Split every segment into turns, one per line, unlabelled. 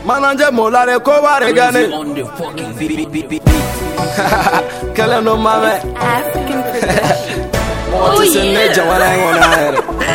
Mananje molare kobare gane. Kele no mame.
African production. Oh
yeah.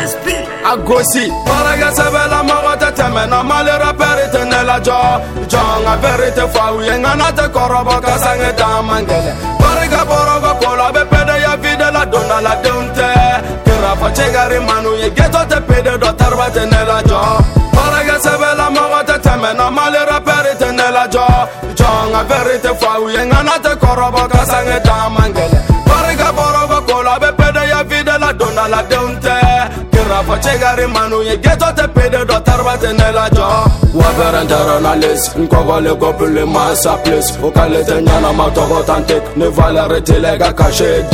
Agosi. Paraga sabela magata temena malera perite nela jo. Jonga perite fawi ngana korobo kasange damangele. Paraga borogo kola be pede ya vide la dona la donte. Kira fa chegari manu ye geto te pede do tarbate nela jo. Paraga sabela magata temena malera perite nela jo. Jonga perite fawi ngana korobo kasange damangele. Paraga borogo kola be pede ya vide la dona la donte. Rafa chegari manu ye geto te pede do tarbate nela jo. Waberantara na les nkogole kopule masa place. Okalete nyana matogo tantek ne valerete lega cache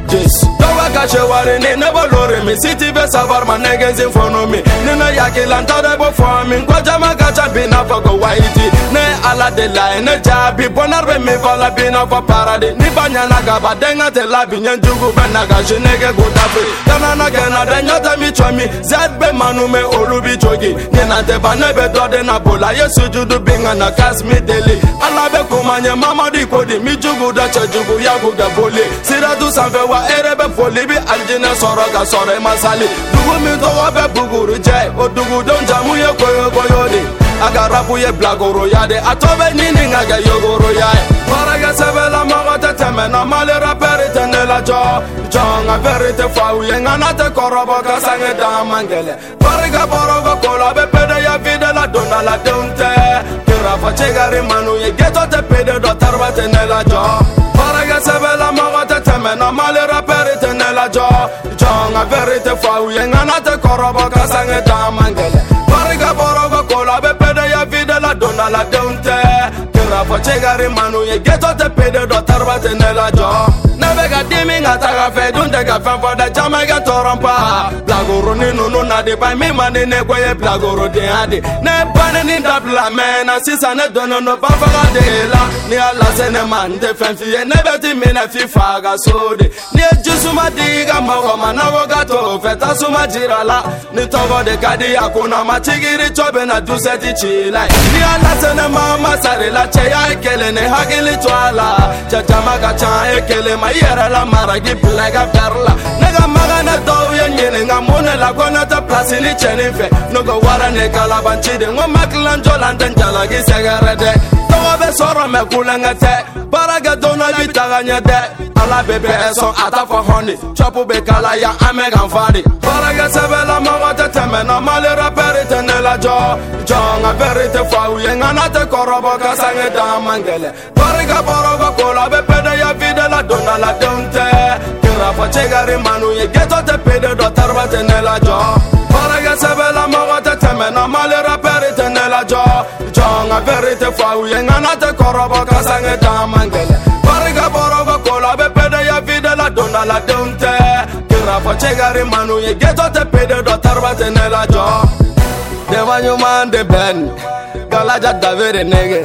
10 Dowa cache wari ni ne bolore mi city be savar manegezi fono mi. Nina yaki lantare bo for mi ngoja magacha bina fago waiti. Ne ala de la ne jabi bonarbe mi vala bina fa parade. Ni banyana gaba denga te la binyen jugu benaga jenege godafe. Tanana gena denyata mi chwami zedbe manume olubi jogi. Nina te banebe dode na bola yesu judu binga na kasmi deli. Alabe kumanye mama di kodi mi jugu da chejugu yagu da boli. Sira du sanfe wa erebe foli bi aljine soroga sore masali. Dugu mi dowa be buguru jay. O dugu don jamu ye koyo koyo di. Agarabu ye blagoro yade. Atobe nini ngage yogoro yae. Paraga sebela magata temena malera perite nela jo. Jonga verite fawu ye ngana te korobo kasange damangele. Paraga borogo kola be pede ya vide la dona la donte. Kira fa chegari manu ye geto te pede do tarbate nela jo. Paraga sebela magata temena malera perite nela jo. Jonga verite fawu ye ngana te korobo kasange damangele. Paraga borogo kola be pede ya vide la dona la donte. Kira fa chegari manu ye geto te pede do tarbate nela jo. Nabega dimi ngataga fe dunde ga fan for the Jamaica torompa. Blagoro ni nunu na de by me mani ne kwaye blagoro de ade. Ne bane ni dabla mena sisa ne dono no bafaga de la. Ni ala se ne man de fenfi ye ne beti me ne fi faga sode. Ni jusuma diga mawa manawo gato feta suma jirala. Ni togo de kadi akuna machigiri chobe na duseti chila. Ni ala se ne mama sare la cheya ekele ne hagili twala. Chachamaga cha ekele ma yera la maragi plaga perla. Nega magana do yenye nga mone la kona ta place ni chenife. No go wara ne kalabanchi de ngo maklanjo landen jala gi segarede. Togo be soro me kulanga te. Baraga dona bitaganya de. Ala bebe son ata for honey. Chopu be kala ya amegan fadi. Baraga sebela magata temena malera perite nela jo. Jonga perite fawu ye ngana te korobo kasange damangele. Baraga borogo kola be pede ya vide la dona la donte. Kira fa chegari manu ye geto te pede do tarbate nela jo. Baraga sebela magata temena malera perite nela jo. Jonga perite fawu ye ngana te korobo kasange damangele. Baraga borogo kola be pede ya vide la dona la donte. Kira fa chegari manu ye geto te pede do tarbate nela jo. Deva nyuman de ben Galaja davere nege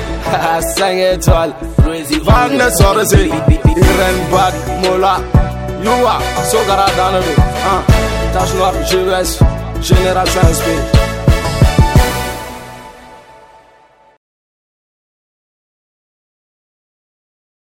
Sang étoile Van de sorsi Iren bad mola Yua Sogara danebe Tache noire GVS Génération SP